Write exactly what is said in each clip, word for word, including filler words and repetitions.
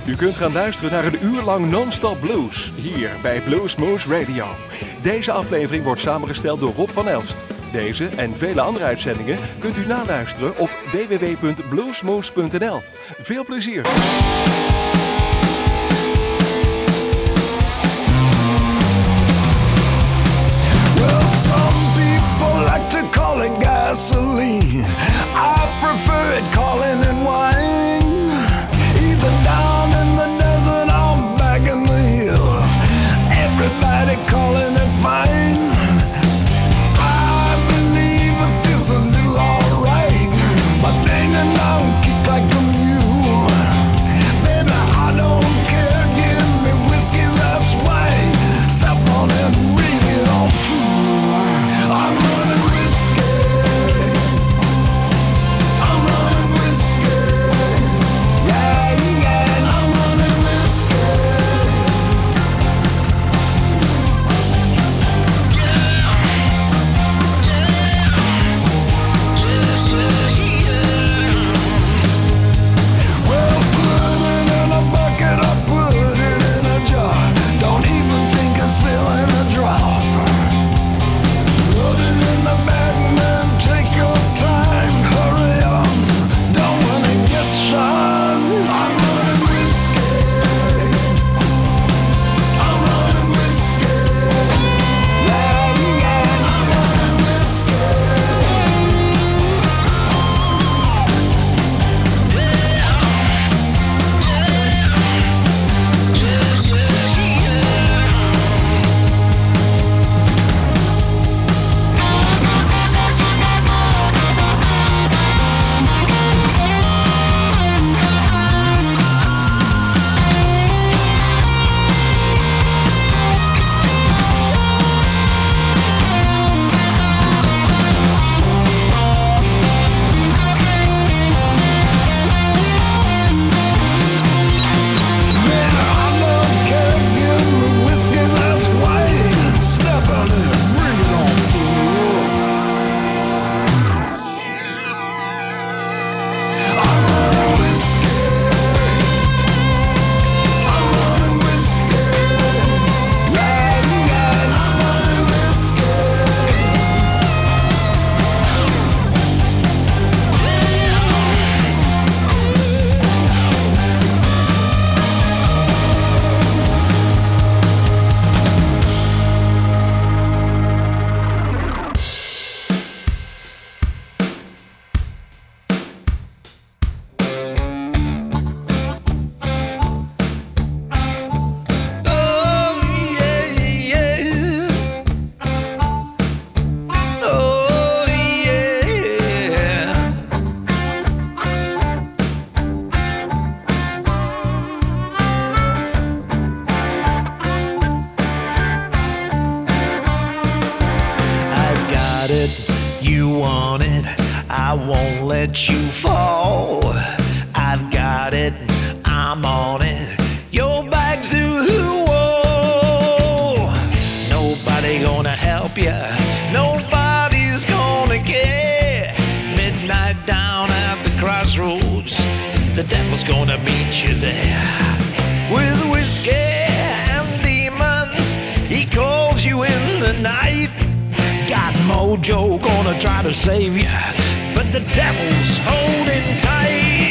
U kunt gaan luisteren naar een uur lang non-stop blues, hier bij Blues Moose Radio. Deze aflevering wordt samengesteld door Rob van Elst. Deze en vele andere uitzendingen kunt u naluisteren op w w w punt bluesmoose punt n l. Veel plezier! Well, some people like to call it gasoline. I prefer it calling it wine. Either down in the desert or back in the hills, everybody calling it fine. I believe it feels a little alright, but banging down kick like a mule. Baby, I don't care, give me whiskey, that's right. Step on it, ring it on through. I'm running whiskey. I'm running whiskey. Yeah, yeah, I'm running whiskey. Well, put it in a bucket or put it in a jar. Don't even think of spilling a drop. Put it in the bag, man, take your time, hurry on. Don't wanna get shot. I'm running whiskey. I'm running whiskey. Yeah, yeah, I'm running whiskey. Man, I don't care, give me whiskey, that's white. Step on it, bring it on through. I'm running whiskey. I'm running whiskey. Yeah, yeah, I'm running whiskey. Oh, yeah, yeah. Oh, yeah. I got it, you want it, I won't let you fall. I've got it, I'm on it, your back's to the wall. Nobody gonna help you, nobody's gonna care. Midnight down at the crossroads, the devil's gonna meet you there. With whiskey and demons, he calls you in the night. Got mojo gonna try to save you, but the devil's holding tight.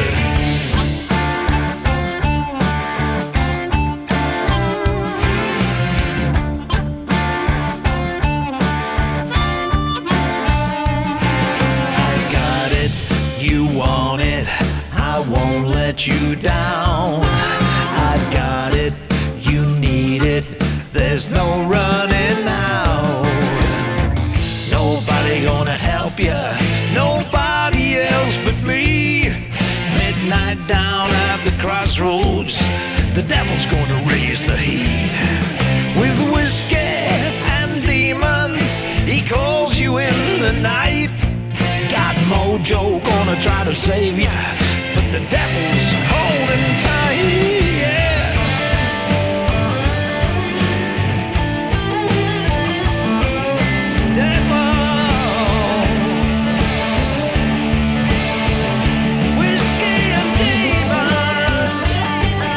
I got it, you want it, I won't let you down. I've got it, you need it, there's no running now. Nobody gonna help you, nobody else but me. Midnight down at the crossroads, the devil's gonna raise the heat. With whiskey and demons, he calls you in the night. Got mojo gonna try to save you, but the devil's holding tight. Yeah. Whiskey and demons.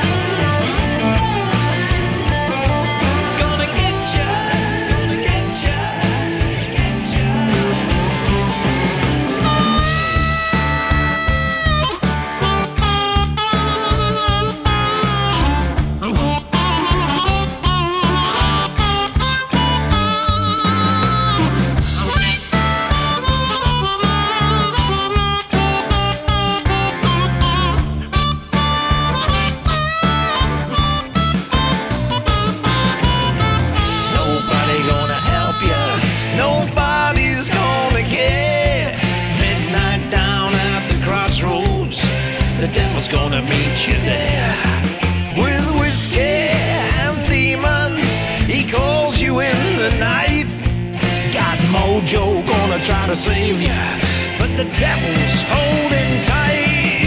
gonna meet you there. With whiskey and demons, he calls you in the night. Got mojo gonna try to save you, but the devil's holding tight.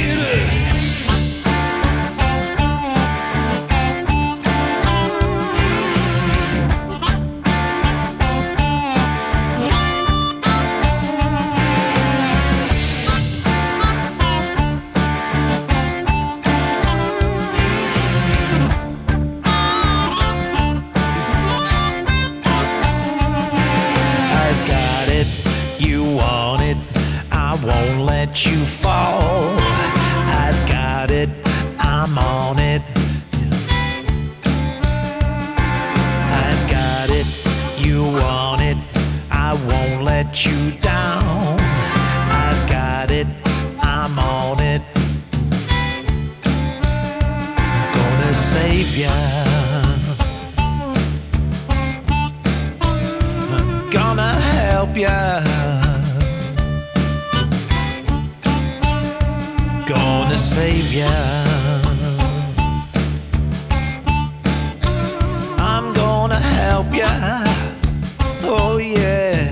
You fall. I've got it, I'm on it. I've got it, you want it, I won't let you down. I've got it, I'm on it. Gonna save ya. I'm gonna help ya. Gonna save ya. I'm gonna help ya. Oh yeah.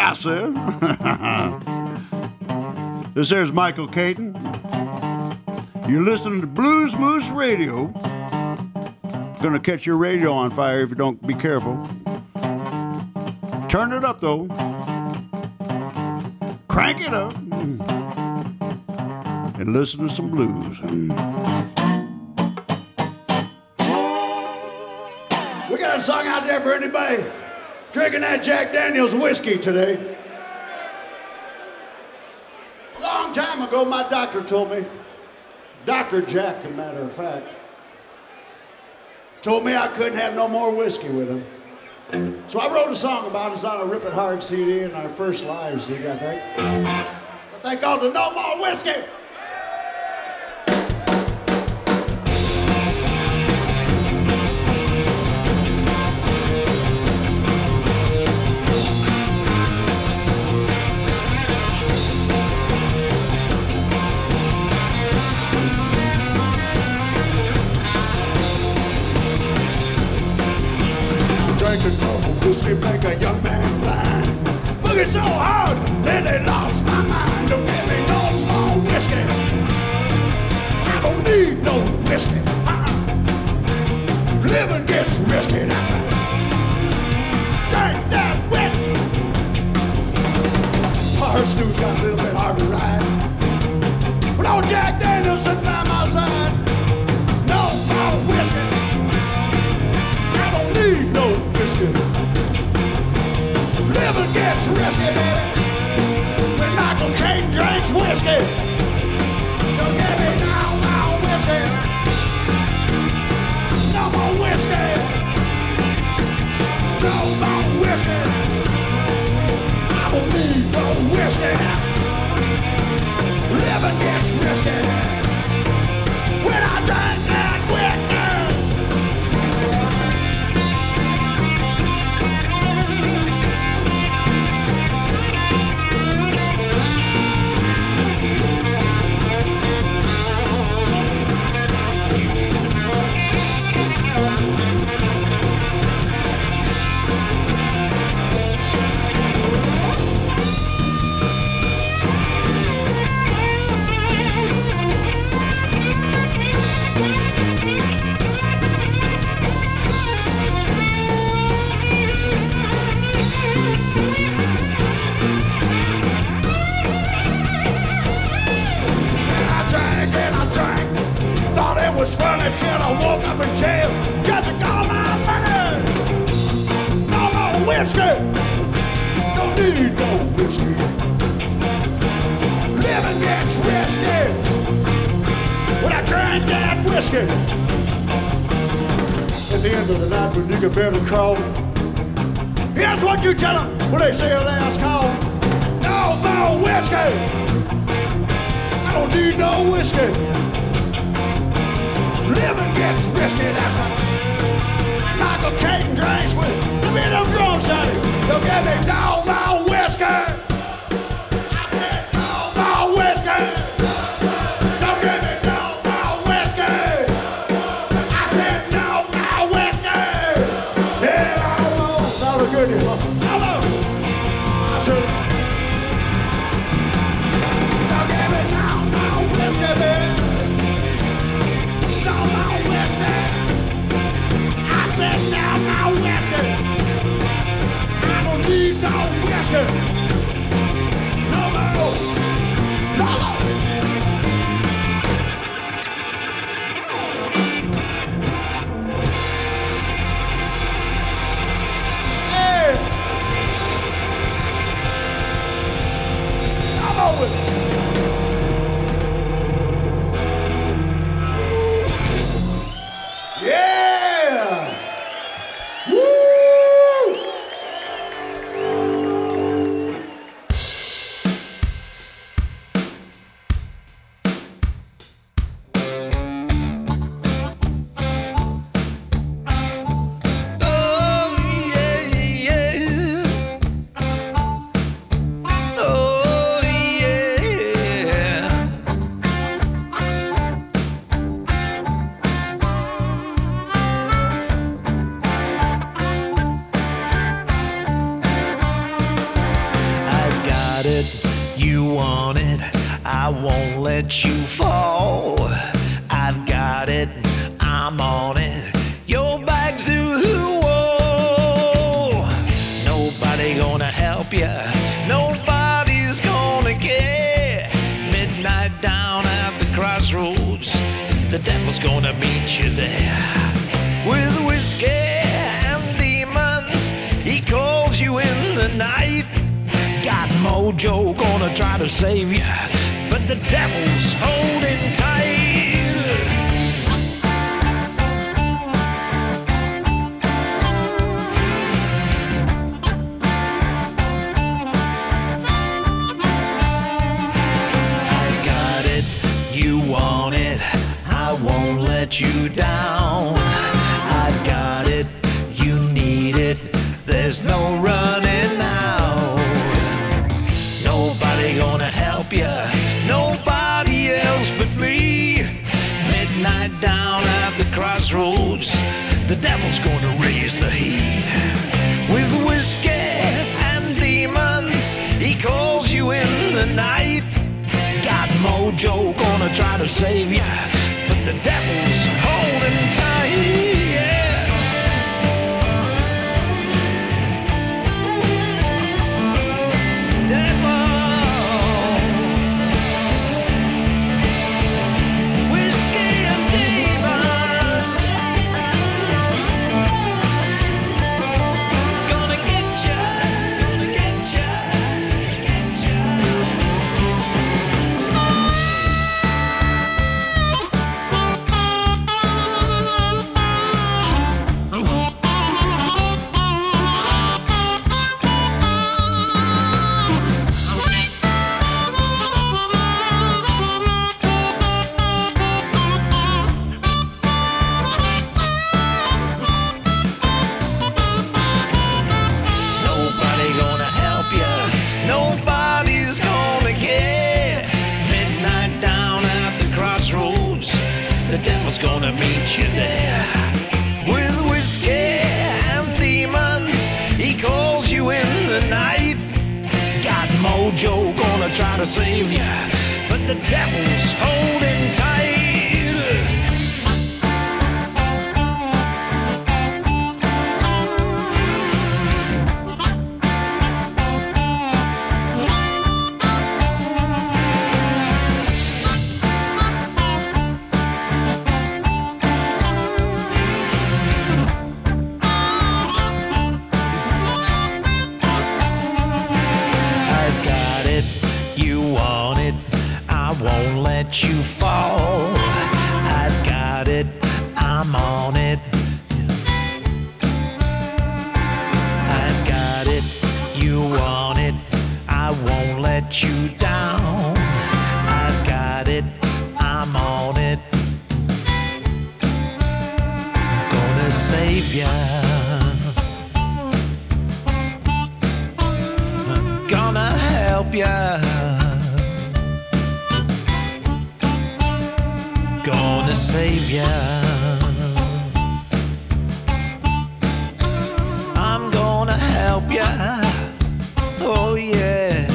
I said. This here's Michael Caton. You're listening to Blues Moose Radio. Gonna catch your radio on fire if you don't be careful. Turn it up though. Crank it up. And listen to some blues. We got a song out there for anybody drinking that Jack Daniels whiskey today. A long time ago, my doctor told me, Doctor Jack, as a matter of fact, told me I couldn't have no more whiskey with him. So I wrote a song about it. It's on a Rip It Hard C D in our first live C D, I think. I think called the No More Whiskey. Drinking no whiskey make a young man blind. Boogie so hard, then they lost my mind. Don't give me no more whiskey. I don't need no whiskey. Uh-uh. Living gets risky, that's it. Drink that wet. Hard stew's got a little bit hard to ride. But old Jack Daniels sitting by my side. No more whiskey. Need no whiskey. Living gets risky, baby. When Michael Caton drinks whiskey. Don't give me no more whiskey. No more whiskey. No more whiskey. I don't need no whiskey. Living gets risky. When I drink that whiskey. Was funny till I woke up in jail. Got to call my money. No more whiskey. Don't need no whiskey. Living gets risky when I drink that whiskey. At the end of the night when you get better call, here's what you tell them when they say a last call. No more whiskey. I don't need no whiskey. Living gets risky, that's how Michael Caton drinks with the bit of drums, honey. Don't give me no more whiskey. I said no more whiskey. Don't give me no more whiskey. I said no more whiskey. Yeah, I know. Sounded good, you know. Hello. I said, don't give me no more whiskey, baby. I said now, now whiskey. I don't need no whiskey. No more. No more. Hey. Come on with it. Yeah! Woo! I won't let you fall. I've got it, I'm on it. Your back's to the wall. Nobody gonna help you, nobody's gonna care. Midnight down at the crossroads, the devil's gonna meet you there. With whiskey and demons, he calls you in the night. Got mojo gonna try to save you, but the devil's holding tight. I got it, you want it, I won't let you down. I've got it, you need it, there's no running now. Nobody gonna help you, nobody else but me. Midnight down at the crossroads, the devil's gonna raise the heat. With whiskey and demons, he calls you in the night. Got mojo gonna try to save you, but the devil's holding tight. Yeah. Devil. Gonna meet you there. With whiskey and demons, he calls you in the night. Got mojo gonna try to save you, but the devil's holding tight. You fall. I've got it, I'm on it. I've got it, you want it, I won't let you down. I've got it, I'm on it. Gonna save ya, gonna help ya, gonna save ya. I'm gonna help ya. Oh yeah.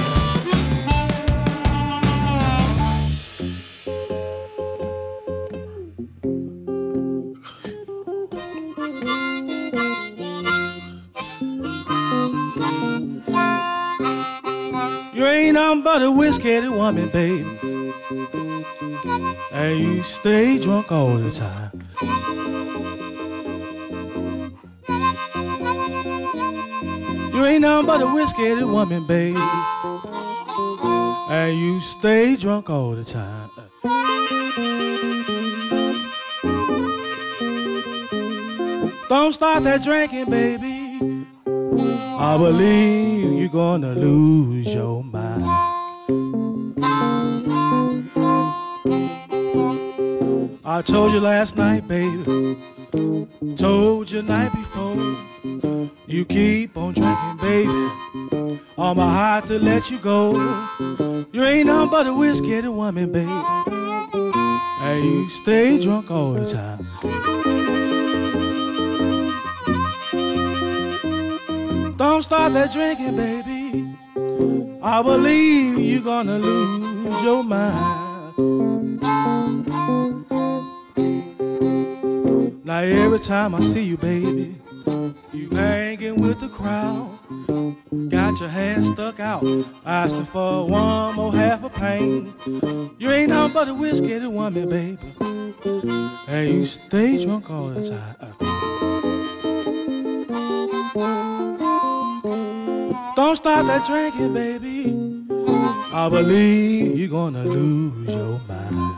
You ain't nothing but a whiskey woman, baby, and you stay drunk all the time. You ain't nothing but a whiskey woman, baby, and you stay drunk all the time. Don't start that drinking, baby. I believe you're gonna lose your mind. I told you last night, baby, told you night before, you keep on drinking, baby, on my heart to let you go. You ain't nothing but a whiskey woman, baby, and you stay drunk all the time. Don't start that drinking, baby. I believe you're gonna lose your mind. Now every time I see you, baby, you hanging with the crowd, got your hands stuck out, asking for one more half a pint. You ain't nothing but a whiskey woman, baby, and you stay drunk all the time. Don't stop that drinking, baby. I believe you're gonna lose your mind.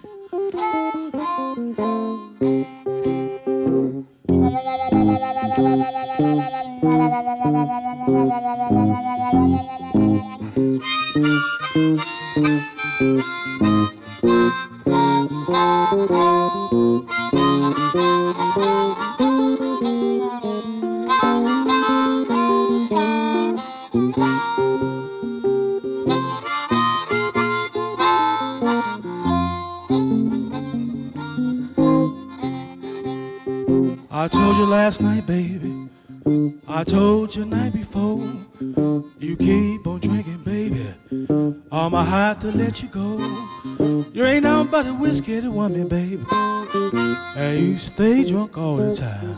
I told you last night, baby, I told you night before, you keep on drinking, baby, I'm a high to let you go. You ain't nothing but a whiskey woman, baby, and you stay drunk all the time.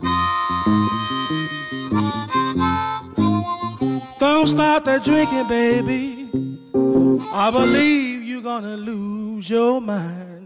Don't stop that drinking, baby, I believe you're gonna lose your mind.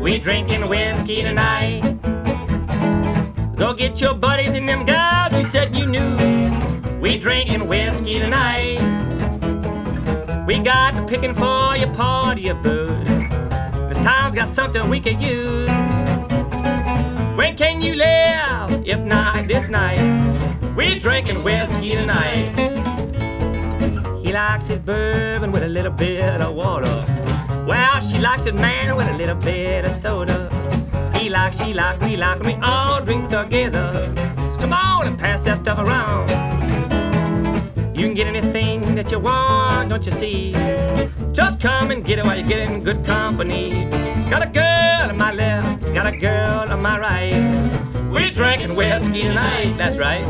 We drinking whiskey tonight. Go get your buddies and them guys you said you knew. We drinking whiskey tonight. We got the picking for your party of booze. This town's got something we could use. When can you live if not this night? We drinking whiskey tonight. He likes his bourbon with a little bit of water. Well, she likes it, man, with a little bit of soda. He like, she like, we like, and we all drink together. So come on and pass that stuff around. You can get anything that you want, don't you see? Just come and get it while you're getting good company. Got a girl on my left, got a girl on my right. We drinking whiskey tonight, that's right.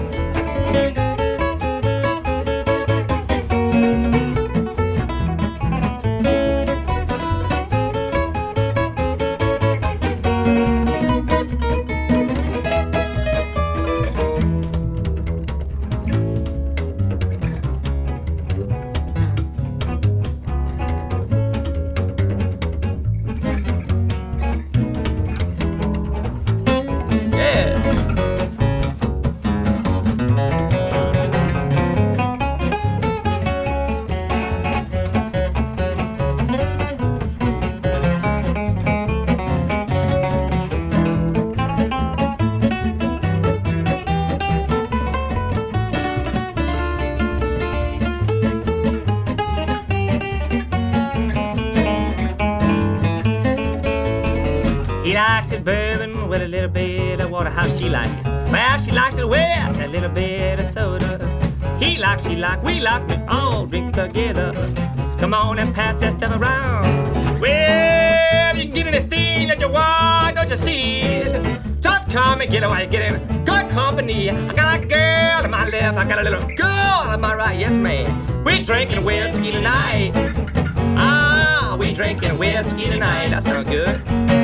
He likes it bourbon with a little bit of water. How she like it? Well, she likes it with a little bit of soda. He likes, she like, we like, we all drink together. So come on and pass that stuff around. Well, you can get anything that you want, don't you see? Just come and get it while you're getting good company. I got a girl on my left, I got a little girl on my right. Yes, man. We drinking whiskey tonight. Ah, we drinking whiskey tonight. That sounds good.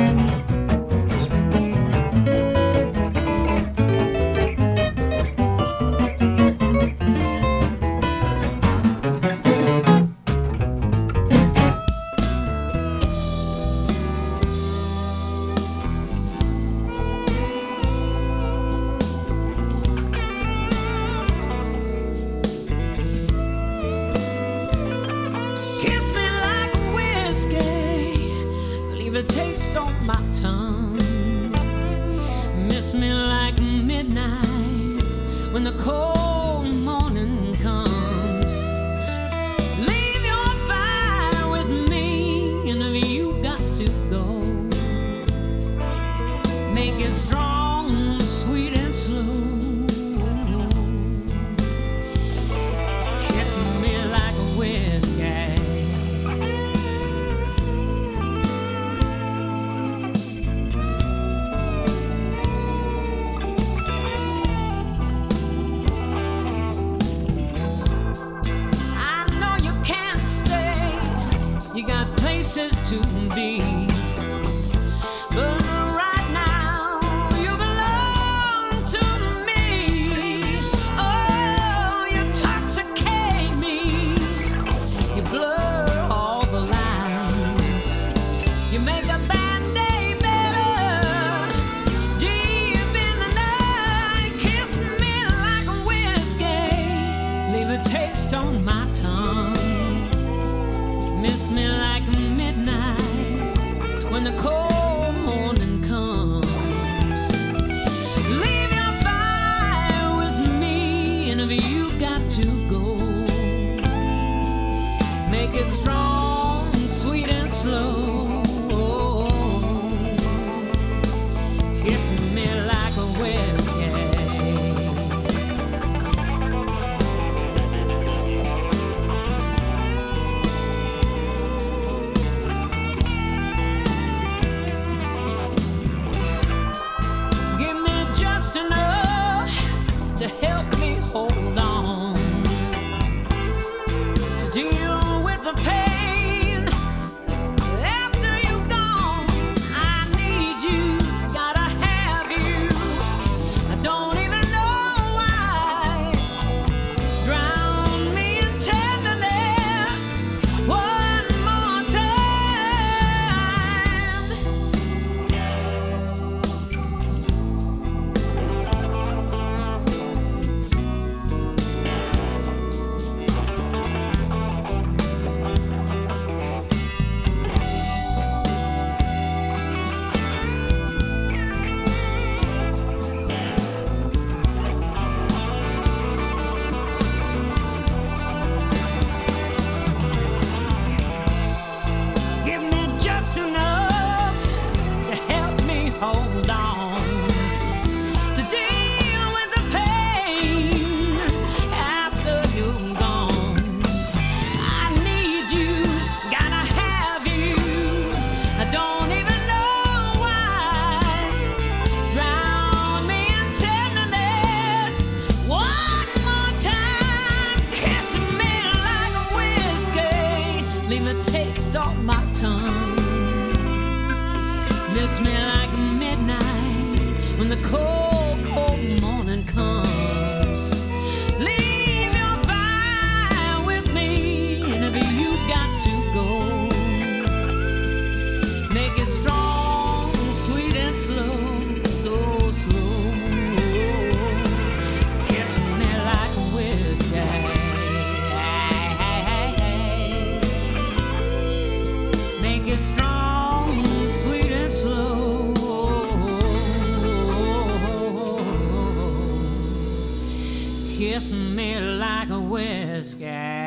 A taste on my tongue. Miss me like midnight when the cold morning comes. Leave your fire with me, and if you got to go, make it strong, sweet and slow. Kiss me like a whiskey. You got places to be, but right now Kiss me like midnight when the cold, cold morning comes. Leave your fire with me, and if you got to go, make it strong, sweet and slow, so slow. Kiss me like a whiskey. Make it strong, sweet and slow. Kiss me like a whiskey.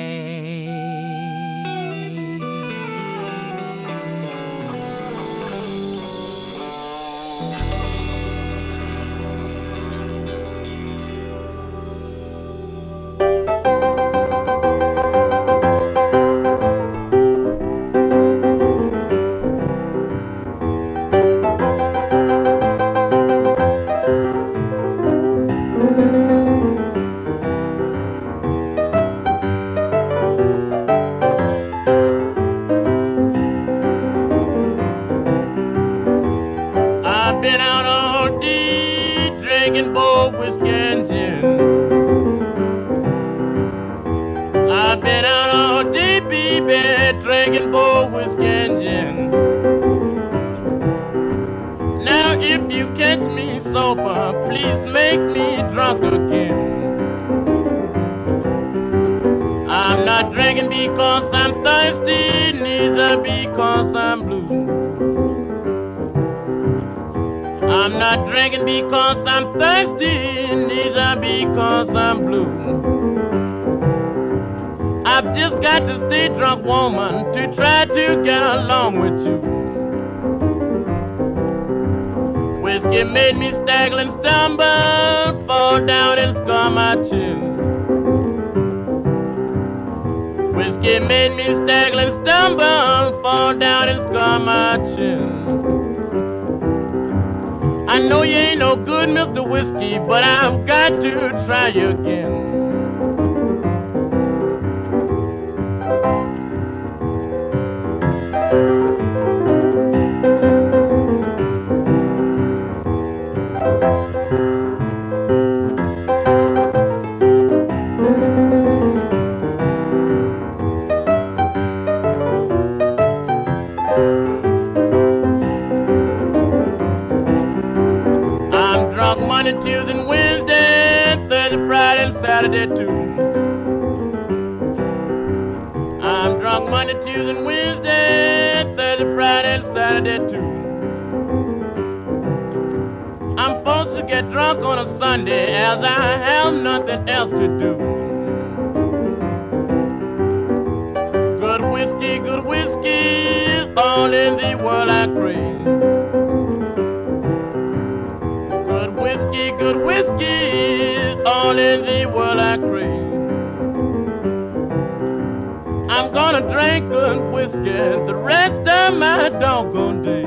Made me stagger and stumble, fall down and scar my chin. Whiskey made me stagger and stumble, fall down and scar my chin. I know you ain't no good, Mister Whiskey, but I've got to try you again. Saturday too. I'm drunk Monday, Tuesday, and Wednesday, Thursday, Friday, and Saturday too. I'm supposed to get drunk on a Sunday as I have nothing else to do. Good whiskey, good whiskey is all in the world I crave. Good whiskey, good whiskey, all in the world I crave. I'm gonna drink good whiskey the rest of my doggone day.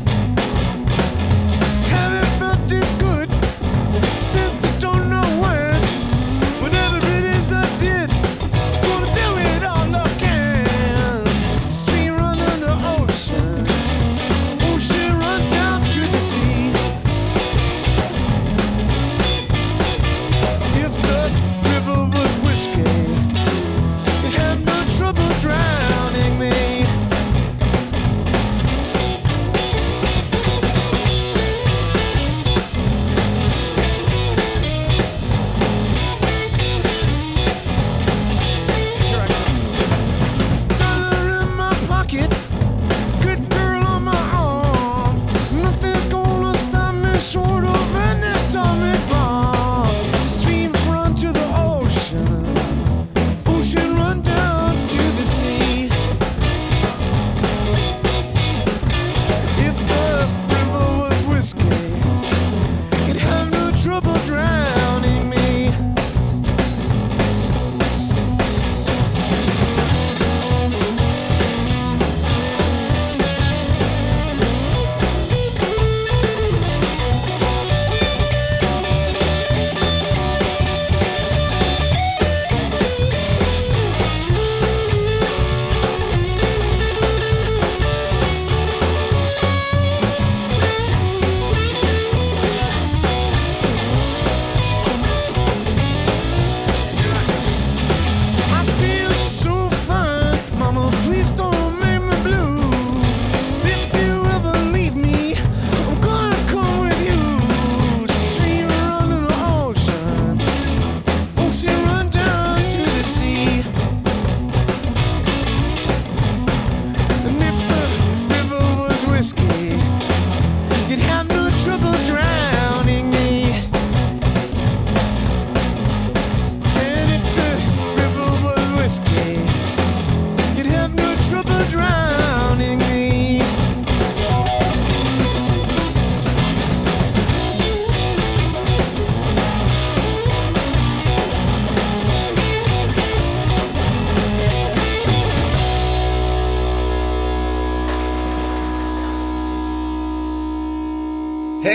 Since I don't know when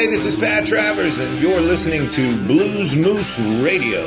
Hey, this is Pat Travers, and you're listening to Blues Moose Radio.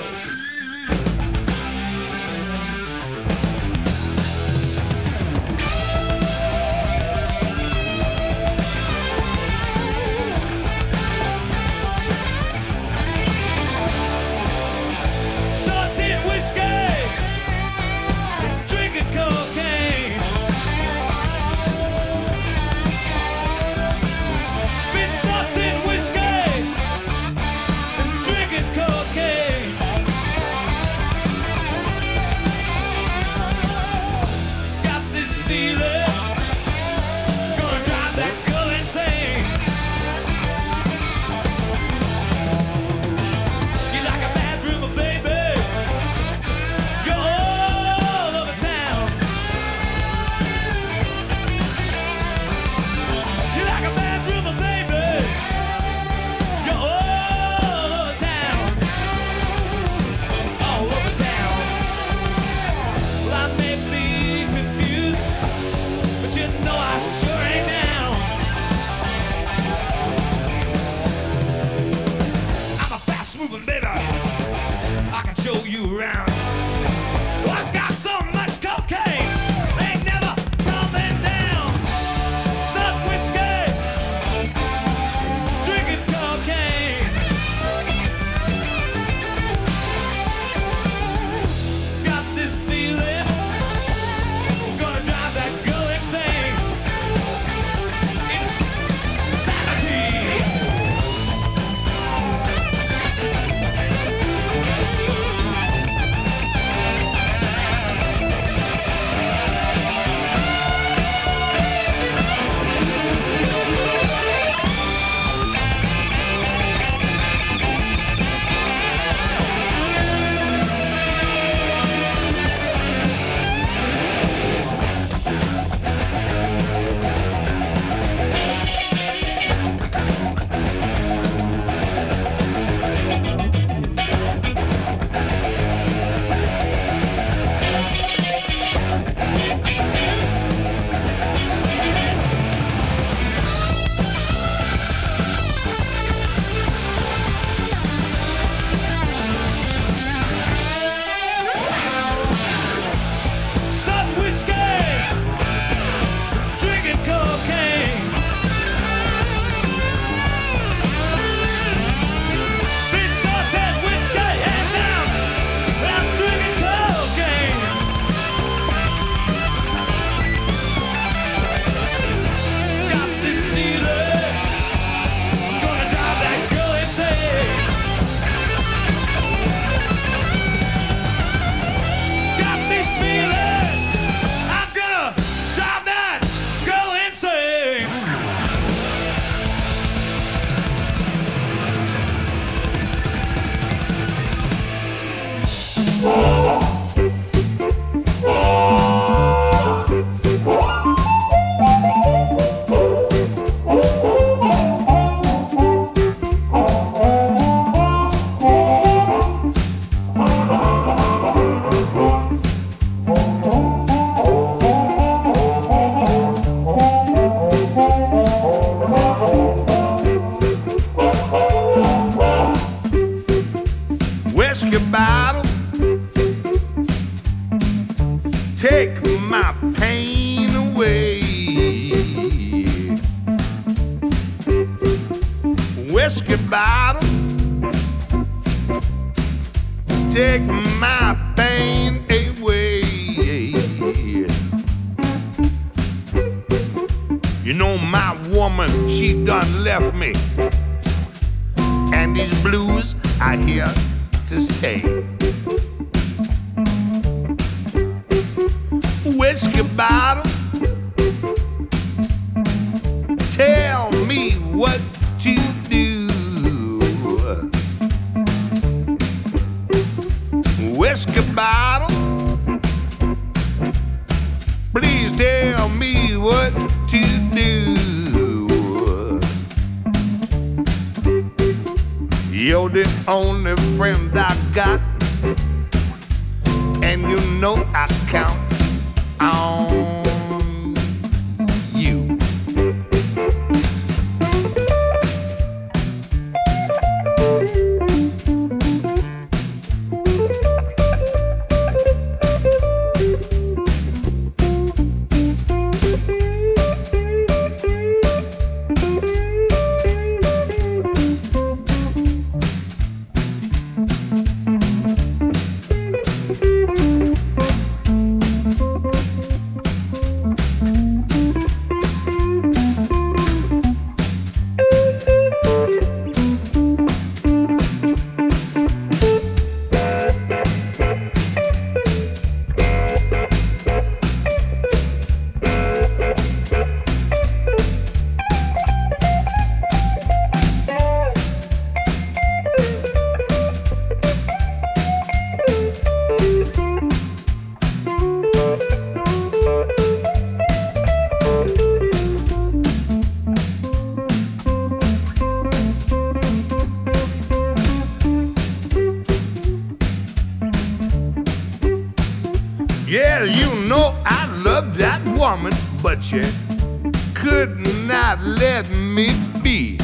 Yeah, you know I love that woman, but you could not let me be.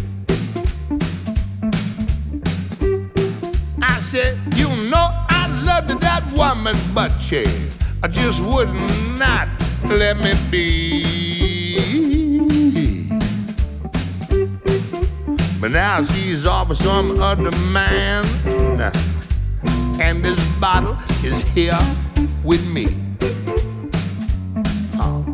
I said, you know I loved that woman, but you just would not let me be. But now she's off with some other man, and this bottle is here with me. Oh.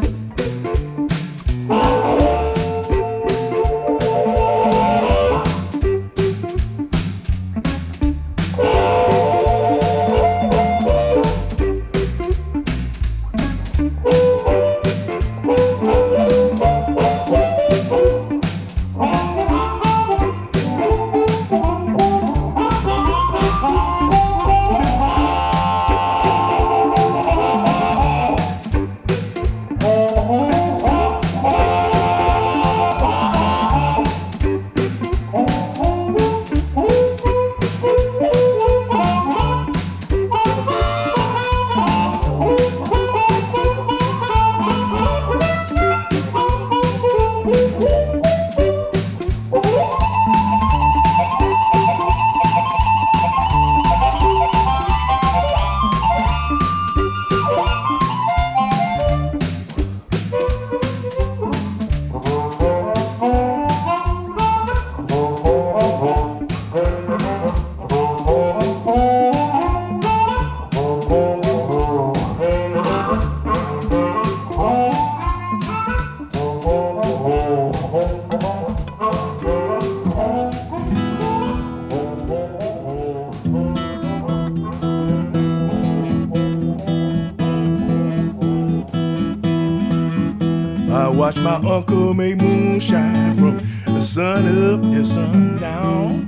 I watched my uncle make moonshine from the sun up to sundown.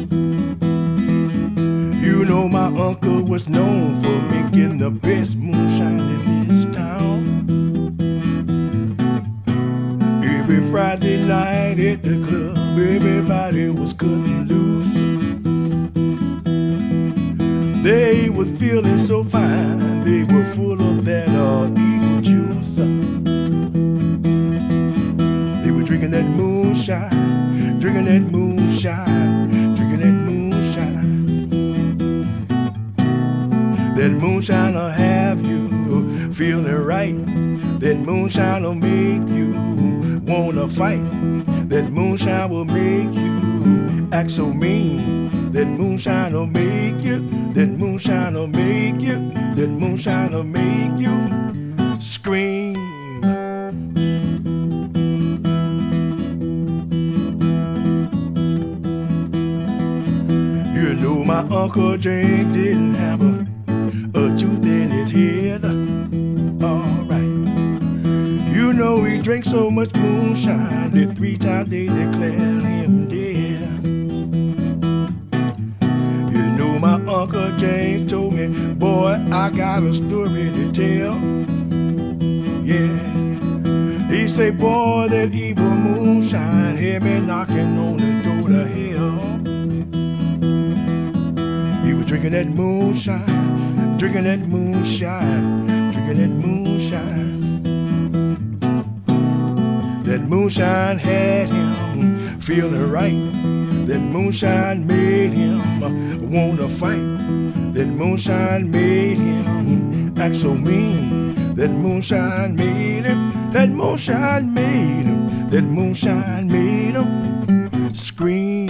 You know my uncle was known for making the best moonshine in this town. Every Friday night at the club, everybody was cutting loose. They was feeling so fine, they were full of that uh, evil juice. They were drinking that moonshine, drinking that moonshine, drinking that moonshine. That moonshine will have you feeling right. That moonshine will make you wanna fight. That moonshine will make you act so mean. That moonshine will make you, that moonshine will make you, that moonshine will make you scream. You know my Uncle James didn't have a, a tooth in his head. Alright. You know he drank so much moonshine that three times they declared him dead. You know my Uncle James told me, boy, I got a story to tell. Yeah. He say, boy, that evil moonshine had me knocking on the door to hell. He was drinking that moonshine, drinking that moonshine, drinking that moonshine. That moonshine had him feeling right. That moonshine made him wanna fight. That moonshine made him act so mean. That moonshine made him, that moonshine made him, that moonshine made him scream.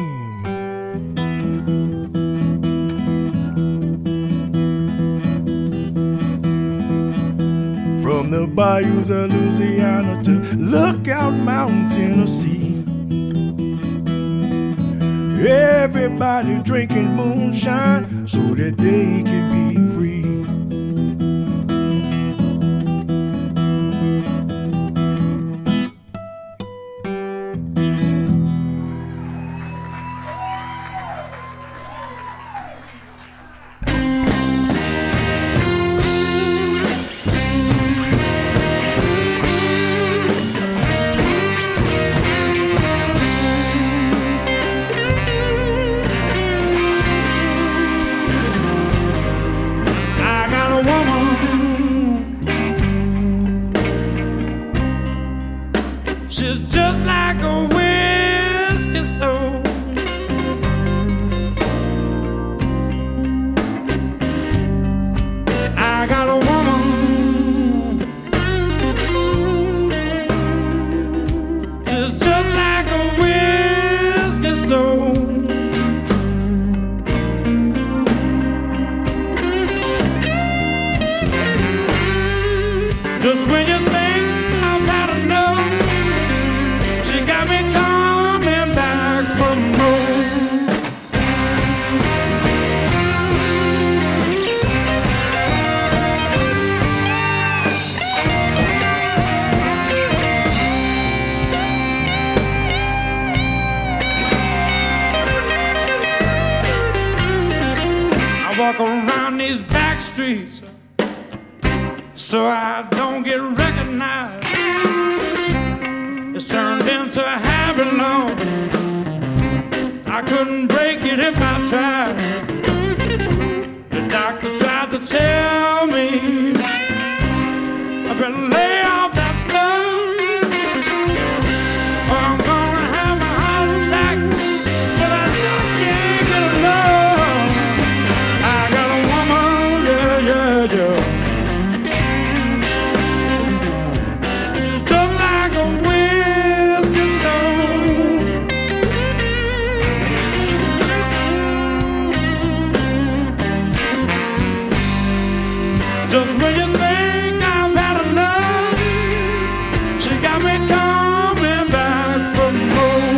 From the bayous of Louisiana to Lookout Mountain, Tennessee, everybody drinking moonshine so that they can be free. walk around these back streets so I don't get recognized. It's turned into a habit now. I couldn't break it if I tried. The doctor tried to tell me I better lay off that stuff, or I'm gonna have a heart attack. But I just can't get enough. I got a woman, yeah, yeah, yeah. She's just like a whiskey stone. Just when you think I've had enough, she got me coming back for more.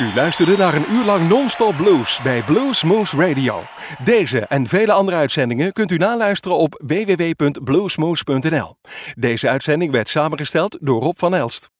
U luisterde naar een uur lang non-stop blues bij Blues Moose Radio. Deze en vele andere uitzendingen kunt u naluisteren op w w w punt bluesmoose punt n l. Deze uitzending werd samengesteld door Rob van Elst.